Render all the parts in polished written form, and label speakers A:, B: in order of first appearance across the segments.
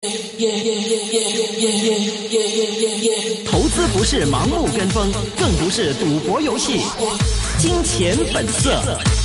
A: 投资不是盲目跟风，更不是赌博游戏。金钱本色。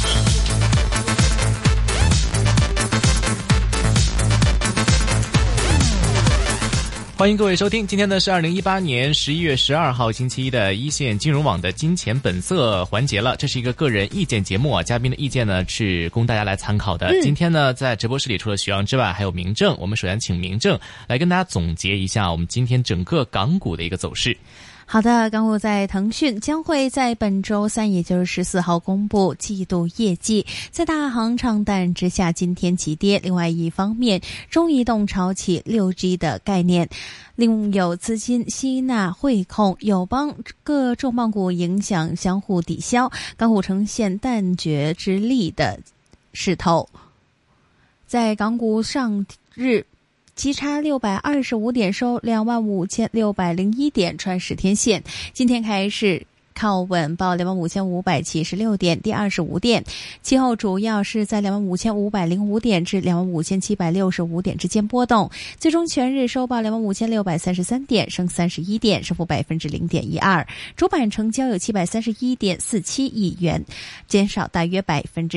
B: 欢迎各位收听，今天呢是2018年11月12号星期一的一线金融网的金钱本色环节了。这是一个个人意见节目啊，嘉宾的意见呢是供大家来参考的。今天呢在直播室里除了徐阳之外还有明正，我们首先请明正来跟大家总结一下我们今天整个港股的一个走势。
C: 好的，港股在腾讯将会在本周三，也就是14号公布季度业绩，在大行唱淡之下，今天急跌。另外一方面，中移动炒起 6G 的概念，另有资金吸纳汇控、友邦各重磅股影响相互抵消，港股呈现淡绝之力的势头。在港股上日急差625点收25,601点，穿10天线。今天开市靠稳报25,576点，跌25点。其后主要是在25,505点至25,765点之间波动，最终全日收报25,633点，升31点，升幅 0.12%。主板成交有731.47亿元，减少大约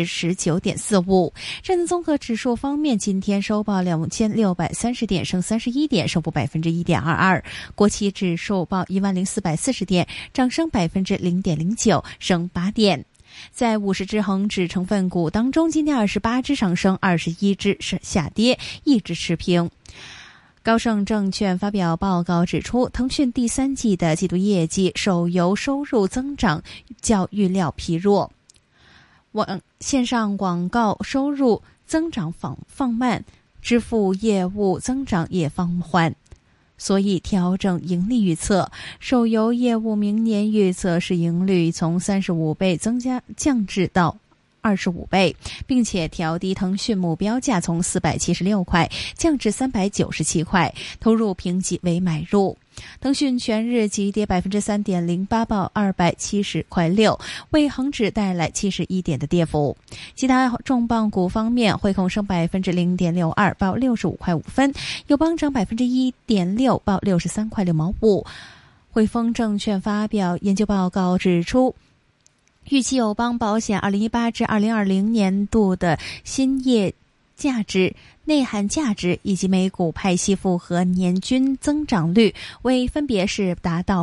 C: 19.45%。上证综合指数方面，今天收报2630点，升31点，升幅 1.22%。国企指数报10,440点，涨升 0.09%， 升8点。在50只恒指成分股当中，今天28只上升，21只下跌，1只持平。高盛证券发表报告指出，腾讯第三季的季度业绩手游收入增长较预料疲弱，线上广告收入增长放慢，支付业务增长也放缓，所以调整盈利预测。手游业务明年预测是盈率从35倍降至到25倍，并且调低腾讯目标价从476块降至397块，投入评级为买入。腾讯全日急跌 3.08%， 报270块6，为恒指带来71点的跌幅。其他重磅股方面，汇控升 0.62%， 报65块5分，友邦涨 1.6%， 报63块6毛5。汇丰证券发表研究报告指出，预期友邦保险2018至2020年度的新业价值、内涵价值以及每股派息复合年均增长率为分别是达到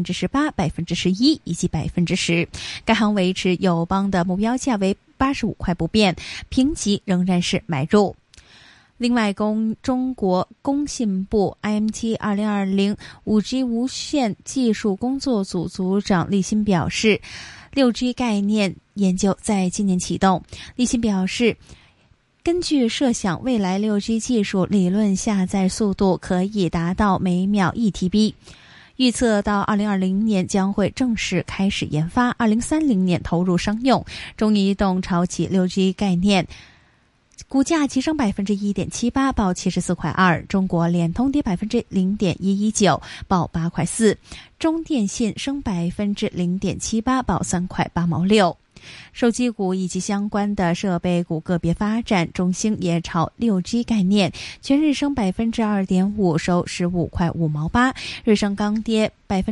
C: 18%、11% 以及 10%。 该行维持友邦的目标价为85块不变，评级仍然是买入。另外，中国工信部 IMT 2020 5G 无线技术工作组组长厉鑫表示，6G 概念研究在今年启动。厉鑫表示，根据设想，未来 6G 技术理论下载速度可以达到每秒 1TB， 预测到2020年将会正式开始研发，2030年投入商用。中移动炒起 6G 概念，股价急升 1.78%， 报74块2。中国联通跌 0.119%， 报8块4。中电信升 0.78%， 报3块8毛6。手机股以及相关的设备股个别发展，中兴也炒 6G 概念，全日升 2.5%， 收15块5毛8。日升钢跌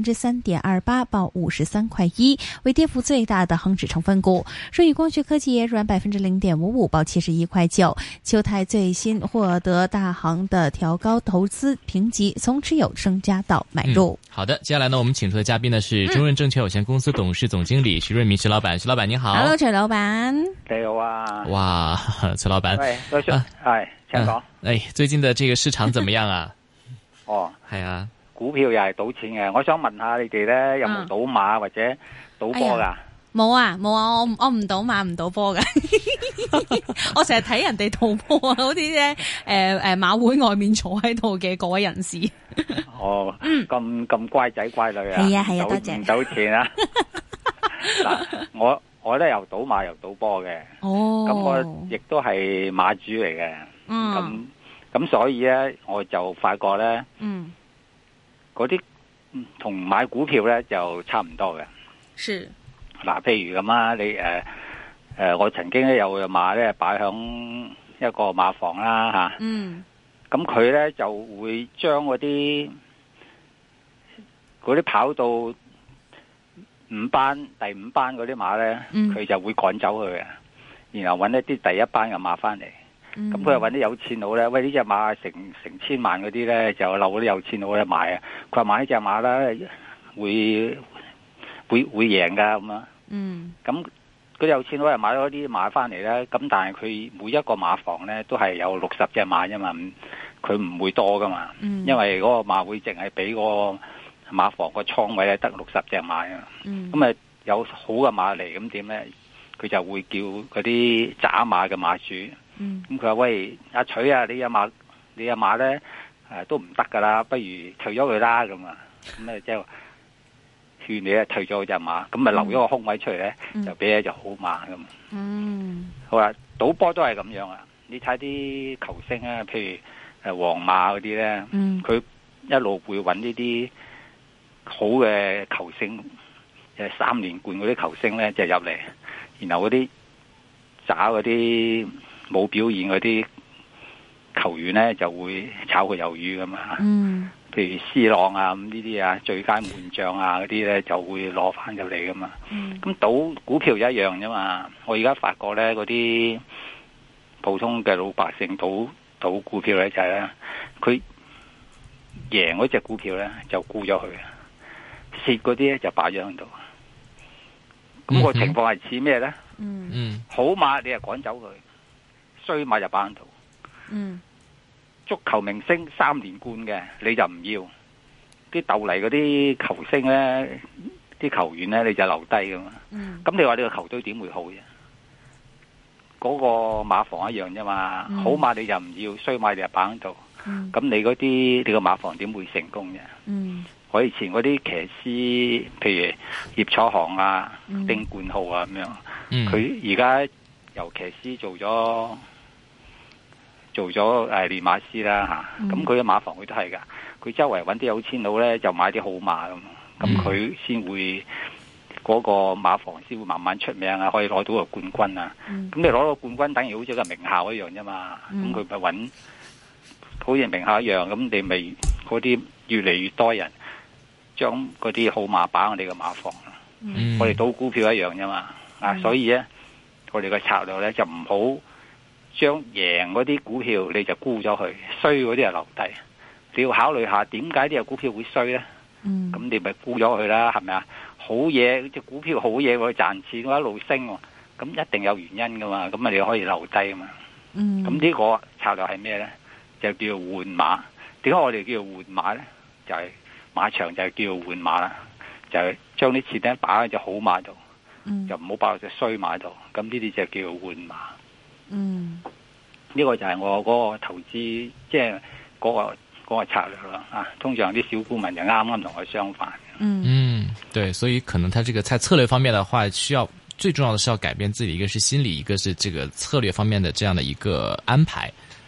C: 3.28%， 报53块1，为跌幅最大的恒指成分股。舜宇光学科技也软 0.55%， 报71块9。秋泰最新获得大行的调高投资评级，从持有升加到买入。
B: 好的，接下来呢，我们请出的嘉宾呢是中润证券有限公司董事总经理徐润民徐老板。徐老板你好。
C: Hello， 徐老板。
D: 你好啊。
B: 哇，徐老板。
D: 喂，多謝。係，請講。
B: 最近的這個市場怎麼樣啊？
D: 哦，
B: 係啊。
D: 股票又係賭錢嘅，我想問下你哋咧有冇賭馬或者賭波噶？
C: 冇啊，我唔賭馬唔賭波噶。我成日睇人哋賭波啊，好似咧馬會外面坐喺度嘅嗰位人士。
D: 哦，咁乖仔乖女啊。
C: 係啊，多謝。
D: 唔賭錢啊？嗱，我咧又賭馬又賭波嘅。哦。咁我亦都係馬主嚟嘅。咁所以咧，我就發覺咧。嗰啲同買股票咧就差唔多嘅。
C: 是。
D: 嗱，譬如咁啊，你我曾經咧有馬咧擺響一個馬房啦嚇。 咁佢咧就會將嗰啲跑到第五班嗰啲馬咧，佢就會趕走佢嘅，然後揾一啲第一班嘅馬翻嚟。咁佢又揾啲有錢佬咧，喂，呢隻馬成千萬嗰啲咧，就漏嗰啲有錢佬咧買啊！佢話買呢隻馬咧會贏噶咁啊！咁嗰啲有錢佬又買咗啲馬翻嚟咧，咁但係佢每一個馬房咧都係有60隻馬啫嘛，佢唔會多噶嘛，因為嗰個馬會淨係俾個馬房個倉位咧得60隻馬啊，咁啊有好嘅馬嚟，咁點咧？佢就會叫嗰啲渣馬嘅馬主，咁佢話喂，阿徐啊，你阿馬咧都唔得噶啦，不如退咗佢啦咁啊，咁咧即係勸你啊退咗隻馬，咁咪留咗個空位出嚟咧，就俾一隻好馬咁。好啦，賭波都係咁樣啊！你睇啲球星啊，譬如皇馬嗰啲咧，佢一路會揾呢啲好嘅球星，3連冠嗰啲球星咧就入嚟，然後嗰啲渣嗰啲冇表現嗰啲球員咧就會炒佢魷魚噶嘛。譬如 C 朗啊，咁呢啲啊最佳門將啊嗰啲咧就會攞翻入嚟噶嘛。咁賭股票一樣啫嘛。我而家發覺咧嗰啲普通嘅老百姓賭股票咧就係咧，佢贏嗰隻股票咧就沽咗佢，蝕嗰啲咧就擺咗喺度。咁個情況係似咩咧？好馬你就趕走佢，衰馬就擺喺度。足球明星3連冠嘅你就唔要，啲鬥嚟嗰啲球星咧，啲球員咧你就留低噶嘛。咁你話你個球隊點會好啫？嗰個馬房一樣啫嘛。好馬你就唔要，衰馬你就擺喺度。咁你個馬房點會成功啫？我以前嗰啲騎師，譬如葉楚航啊、丁冠浩啊咁樣，佢而家由騎師做咗練馬師啦吓，咁佢嘅馬房佢都係噶，佢周圍揾啲有錢佬咧就買啲好馬咁佢先會嗰個馬房先會慢慢出名啊，可以攞到個冠軍啊。咁你攞到冠軍等於好似個名校一樣啫嘛，咁佢咪揾好似名校一樣，咁你咪嗰啲越嚟越多人將嗰啲好馬擺我哋嘅馬房。我哋賭股票一樣啫嘛，所以咧我哋嘅策略咧就唔好將贏嗰啲股票你就沽咗佢，衰嗰啲就留低。你要考慮下點解啲股票會衰咧？咁你咪沽咗佢啦，係咪啊？好嘢，隻股票好嘢，佢賺錢，佢一路升，咁一定有原因噶嘛。咁你可以留低啊嘛。咁呢個策略係咩咧？就叫換馬。點解我哋叫做換馬咧？就係馬場就係叫做換馬啦，就係將啲錢咧擺喺隻好馬度，就唔好擺喺隻衰馬度。咁呢啲就叫做換馬。呢個就係我嗰個投資，即係嗰個策略啦。通常啲小股民就啱啱同我相反。
B: 對，所以可能他這個在策略方面的話，最重要的是要改變自己，一個是心理，一個是這個策略方面的這樣的一個安排。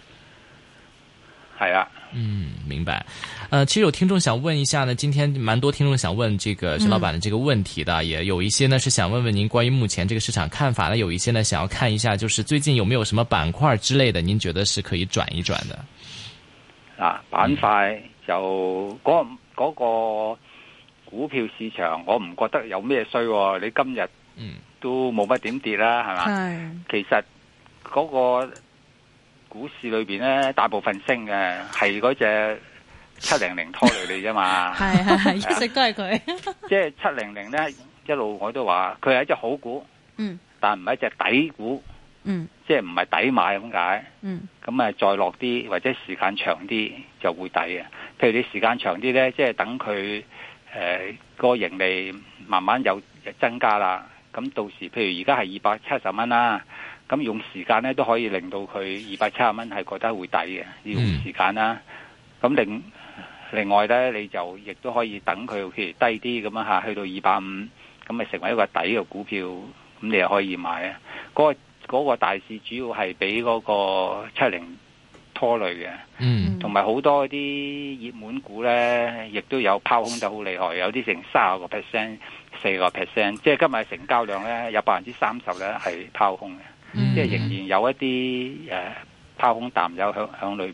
D: 係啊。
B: 明白。其實有聽眾想問一下呢，今天蠻多聽眾想問這個徐老闆的這個問題的，也有一些呢是想問問您關於目前這個市場看法呢，有一些呢想要看一下，就是最近有沒有什麼板塊之類的，您覺得是可以轉一轉的？
D: 板塊就嗰個股票市場，我唔覺得有咩衰。你今日都冇乜點跌啦，係嘛？其實嗰個股市裏邊咧，大部分升嘅係嗰隻700拖累你啫嘛。係，一直都係佢。即係700咧，一路我都話佢係一隻好股，但唔係一隻底股，即係唔係抵買咁解。咁啊，再落啲或者時間長啲就會抵嘅。譬如你時間長啲咧，即係等佢個盈利慢慢有增加啦。咁到時譬如而家係270蚊啦。咁用時間咧都可以令到佢270蚊係覺得會抵嘅，要用時間啦。咁另外咧，你就亦都可以等佢譬如低啲咁樣去到250，咁咪成為一個底嘅股票，咁你又可以買啊。嗰個大市主要係俾嗰個70拖累嘅，同埋好多啲熱門股咧，亦都有拋空得好厲害，有啲成30%、4%，即係今日成交量咧有30%咧係拋空嘅。即係仍然有一啲拋空淡友響裏邊嘅。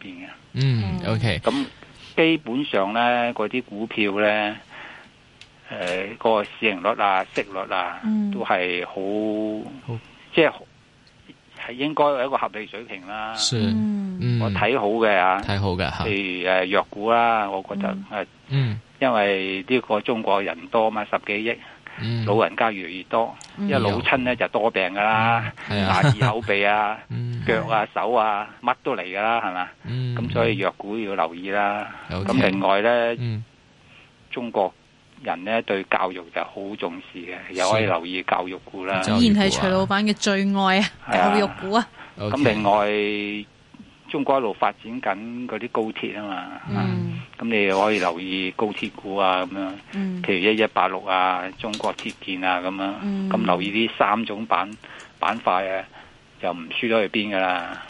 B: OK。
D: 咁基本上咧，嗰啲股票咧，個市盈率啊、息率啊，都係好，即係應該有一個合理水平啦。我睇好嘅睇
B: 好嘅
D: 譬如藥股啦，我覺得因為呢個中國人多嘛，10幾億。老人家越嚟越多，因為老親咧就多病噶啦，牙耳口鼻啊、腳啊、手啊，乜都嚟噶啦，係嘛？咁所以藥股要留意啦。咁另外咧，中國人咧對教育就好重視嘅，又可以留意教育股啦。
C: 依然係徐老闆嘅最愛啊，教育股啊。
D: 咁另外，中國一路發展緊嗰啲高鐵啊嘛，咁你可以留意高鐵股啊咁樣，譬如1186啊、中國鐵建啊咁樣，咁留意呢3種板塊啊，就唔輸咗去邊噶啦。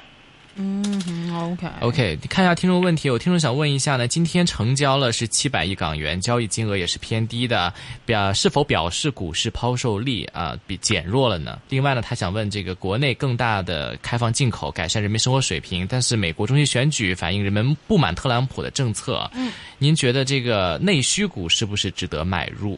B: OK， 看一下聽眾問題，有聽眾想問一下呢，今天成交了是700億港元，交易金額也是偏低的，是否表示股市拋售力比減弱了呢？另外呢，他想問這個國內更大的開放進口，改善人民生活水平，但是美國中期選舉反映人們不滿特朗普的政策，您覺得這個內需股是不是值得買入？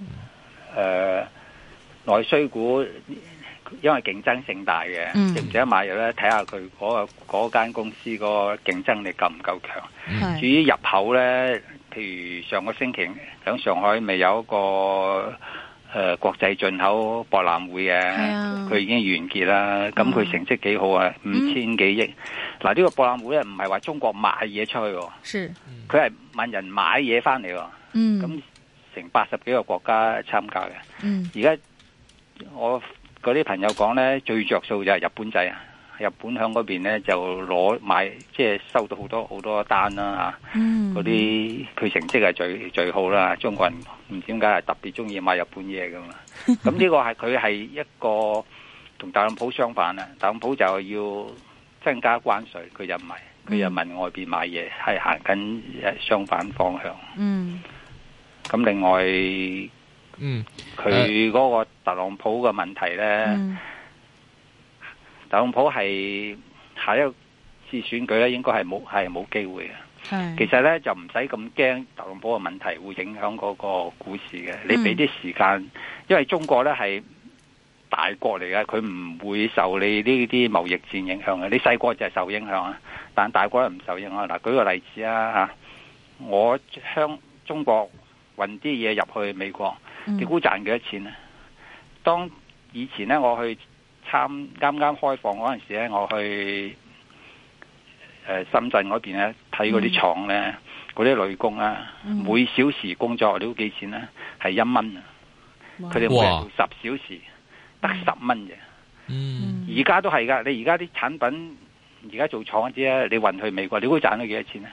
D: 內需股因為競爭性大嘅，值唔值得買入咧？睇下佢嗰間公司個競爭力夠唔夠強。至於入口咧，譬如上個星期喺上海咪有一個國際進口博覽會嘅，佢已經完結啦。咁佢成績幾好啊，5000幾億。嗱，呢個博覽會咧唔係話中國賣嘢出去，佢係問人買嘢翻嚟。咁成80幾個國家參加嘅。而家我嗰啲朋友講咧，最着數就係日本仔啊！日本響嗰邊咧就買，即係收到好多單啦嚇。嗰啲佢成績係最好啦。中國人唔知點解係特別中意買日本嘢噶嘛。咁呢個係佢係一個同特朗普相反啊！特朗普就要增加關稅，佢就唔係，佢就問外邊買嘢，係行緊相反方向。咁另外，佢嗰個特朗普嘅問題咧，特朗普係下一次選舉咧，應該係冇機會嘅。其實咧就唔使咁驚特朗普嘅問題會影響嗰個股市嘅。你俾啲時間，因為中國咧係大國嚟嘅，佢唔會受你呢啲貿易戰影響嘅。你細國就係受影響啊，但大國唔受影響。嗱，舉個例子啊嚇，我中國運啲嘢入去美國。你估賺幾多錢呢？當以前咧，我去啱啱開放嗰陣時咧，我去深圳嗰邊咧睇嗰啲廠咧，嗰啲女工啊，每小時工作你估幾錢呢？係1蚊啊！佢哋每日做10小時，得10蚊啫。而家都係噶，你而家啲產品而家做廠嗰啲咧，你運去美國，你估賺咗幾多錢呢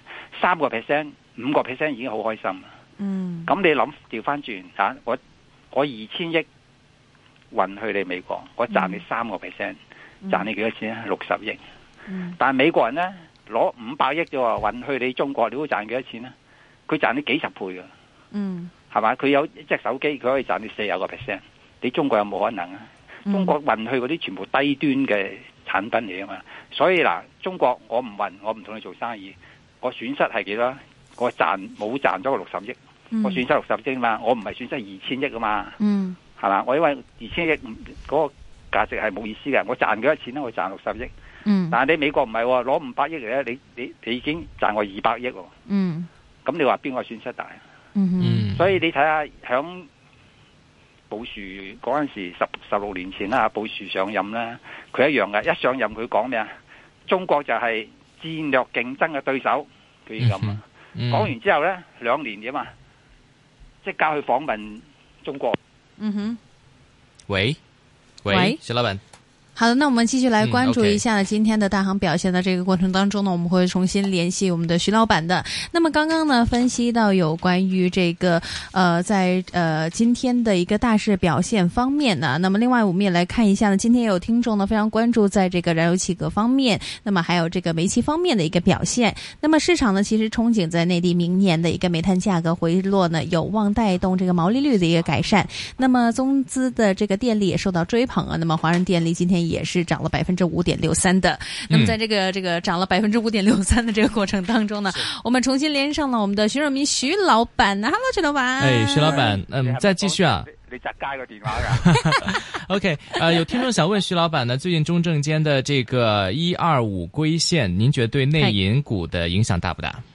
D: ？3%、5%已經好開心。咁你諗調翻轉吓，我2000億運去你美國，我賺你3%，賺你幾多錢啊？60億。但係美國人咧攞500億啫喎，運去你中國，你會賺幾多錢啊？佢賺你幾十倍噶，係咪？佢有一隻手機，佢可以賺你40%，你中國有冇可能啊？中國運去嗰啲全部低端嘅產品嚟啊嘛，所以嗱，中國我唔運，我唔同你做生意，我損失係幾多？我冇賺咗個60億，我損失60億嘛，我唔係損失2000億啊嘛，係嘛？我因為2000億嗰個價值係冇意思嘅，我賺幾多錢咧？我賺60億，但係你美國唔係喎，攞500億嚟咧，你已經賺我200億喎，咁你話邊個損失大？所以你睇下響布殊嗰陣時16年前啦，布殊上任啦，佢一樣嘅，一上任佢講咩啊？中國就係戰略競爭嘅對手，佢已經咁啊。講完之後呢，2年啫嘛，即係交去訪問中國。
B: 喂，石老闆。
C: 好的，那我們繼續來關注一下呢今天的大行表現的這個過程當中呢，我們會重新聯繫我們的徐老闆的。那麼剛剛呢分析到有關於這個在今天的一個大市表現方面呢，那麼另外我們也來看一下呢，今天也有聽眾呢非常關注在這個燃油氣格方面，那麼還有這個煤氣方面的一個表現。那麼市場呢其實憧憬在內地明年的一個煤炭價格回落呢，有望帶動這個毛利率的一個改善。那麼中資的這個電力也受到追捧啊，那麼華潤電力今天天也是漲了5.63%的。那麼在這個漲了5.63%的這個過程當中呢，我們重新連上了我們的徐潤民徐老闆。Hello， 徐老闆。
B: 徐老闆，再繼續啊。
D: 你扎街個電話㗎。
B: OK， 有聽眾想問徐老闆呢，最近中證監的這個125歸線，您覺得對內銀股的影響大不大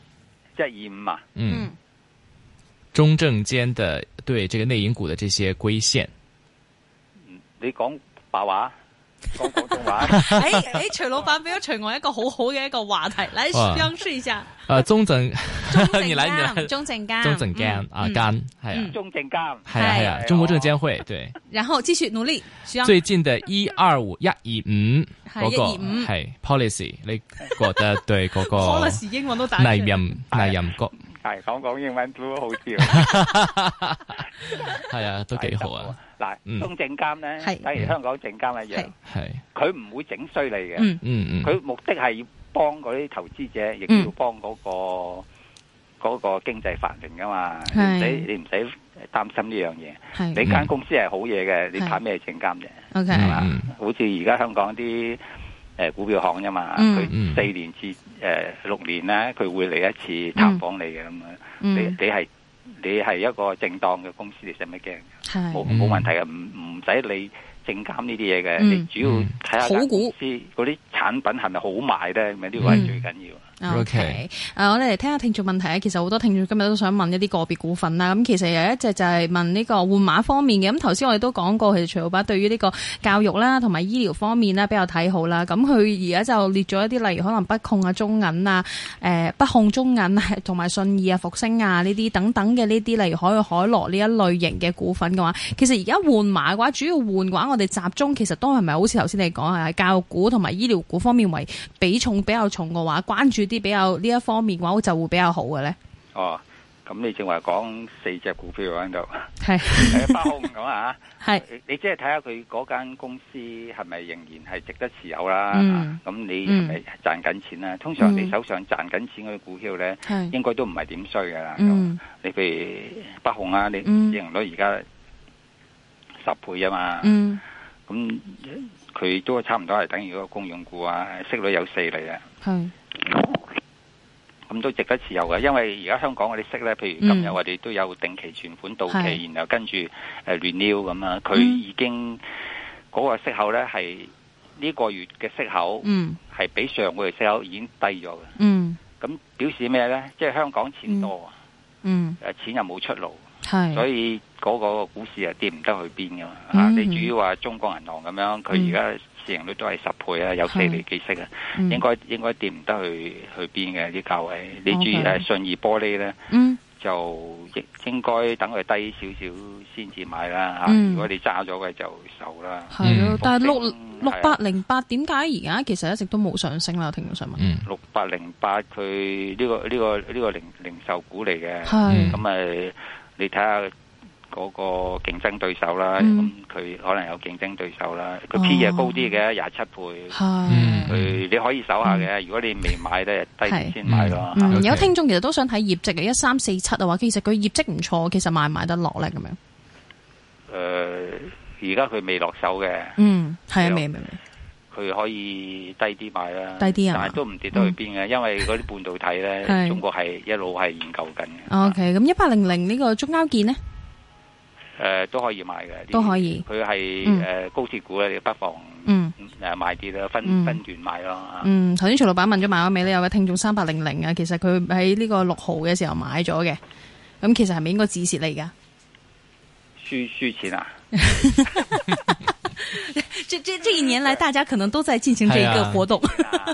D: ？125啊？
B: 中證監的對這個內銀股的這些歸線，
D: 你講白話？講廣東話。
C: 徐老闆俾咗徐我一個好好嘅一個話題，來嘗試一下。
B: 中證，你來，
C: 中證監
B: 啊，監係啊，
D: 中證監
B: 係啊，中國證監會對。
C: 然後繼續努力。
B: 最近的125嗰個係 policy， 你覺得對嗰個
C: policy 英文都打
B: 內任局
D: 係講英文都好笑。
B: 係啊，都幾好啊。
D: 嗱，中證監咧，等於香港證監一樣，佢唔會整衰你嘅，佢目的係要幫嗰啲投資者，亦都要幫嗰個經濟繁榮噶嘛，你唔使擔心呢樣嘢。你間公司係好嘢嘅，你睇咩證監啫？係嘛？好似而家香港啲股票行啫嘛，佢4年至6年咧，佢會嚟一次探訪你嘅咁樣，你係一個正當嘅公司，你使乜驚？冇問題嘅，唔使理證監呢啲嘢嘅，你主要睇下間公司嗰啲產品係咪好賣咧，咁呢個係最緊要。
C: OK， 我哋嚟聽下聽眾問題啊。其實好多聽眾今日都想問一啲個別股份啦。咁其實有一隻就係問呢個換馬方面嘅。咁頭先我哋都講過，其實徐老闆對於呢個教育啦同埋醫療方面咧比較睇好啦。咁佢而家就列咗一啲，例如可能北控啊、中銀啊、北控中銀同埋信義啊、復星啊呢啲等等嘅呢啲，例如海螺呢一類型嘅股份嘅話，其實而家換馬嘅話，主要換嘅話，我哋集中其實都係咪好似頭先你講係教育股同埋醫療股方面為比重比較重嘅話，關注啲比較呢一方面嘅話就會比較好嘅咧。
D: 哦，咁你正話講4隻股票喺度，
C: 係
D: 北控咁啊，
C: 係
D: 你即係睇下佢嗰間公司係咪仍然係值得持有啦？咁你係咪賺緊錢啦？通常你手上賺緊錢嗰啲股票咧，應該都唔係點衰噶啦。你譬如北控啊，你市盈率而家10倍啊嘛，咁佢都差唔多係等於嗰個公用股啊，息率有4厘啊。咁都值得持有嘅，因為而家香港嗰啲息咧，譬如今日我哋都有定期存款到期，然後跟住renew 咁啊，佢已經嗰個息口咧係呢個月嘅息口，係比上個月息口已經低咗嘅。咁表示咩咧？即係香港錢多，錢又冇出路，所以嗰個股市係跌唔得去邊噶嘛。你主要話中國銀行咁樣，佢而家市盈率都係10倍啊，有4厘幾息啊，應該跌唔得去邊嘅啲價位。你注意信義玻璃咧，就應該等佢低少少先至買啦。如果你揸咗嘅就受啦。
C: 係咯，但係6808點解而家其實一直都冇上升啦？聽眾想問。
D: 6808佢呢個零售股嚟嘅，咁你睇下嗰個競爭對手啦，咁佢可能有競爭對手啦，佢 P 嘢高啲嘅27倍，佢你可以守下嘅。如果你未買咧，低啲先買咯。
C: 有聽眾其實都想睇業績嘅1347嘅話，其實佢業績唔錯，其實買唔買得落咧咁樣？
D: 而家佢未落手嘅，
C: 係啊，未。
D: 佢可以低啲買啦，
C: 低啲
D: 但係都唔跌得去邊嘅，因為嗰啲半導體咧，中國係一路係研究緊嘅。
C: OK，咁1800呢個中交建呢？
D: 都可以買嘅，
C: 都可以。
D: 佢係高鐵股咧，你不妨買啲啦，分段買咯。
C: 頭先徐老闆問咗買咗未咧？有位聽眾3800啊，其實佢喺呢個6號嘅時候買咗嘅，咁其實係咪應該止蝕嚟㗎？
D: 輸錢啊！
C: 這一年來，大家可能都在進行這一個活動。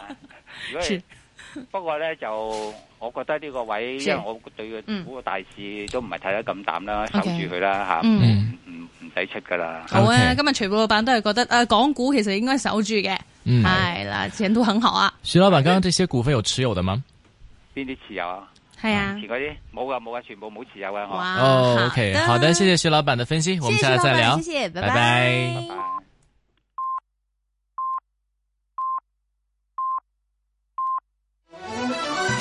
D: 不過咧，就我覺得呢個位，因為我對個大市都唔係睇得咁淡啦，守住佢啦吓，唔使出噶啦。
C: 好啊，今日徐老闆都係覺得港股其實應該守住嘅，係啦，前途很好啊。
B: 徐老闆，剛剛這些股份有持有的嗎？
D: 邊啲持有啊？
C: 係啊，
D: 前嗰啲冇噶，全部冇持有啊。
B: OK，好的，謝謝徐老闆的分析，我們下次再聊，
C: 謝謝，拜
B: 拜。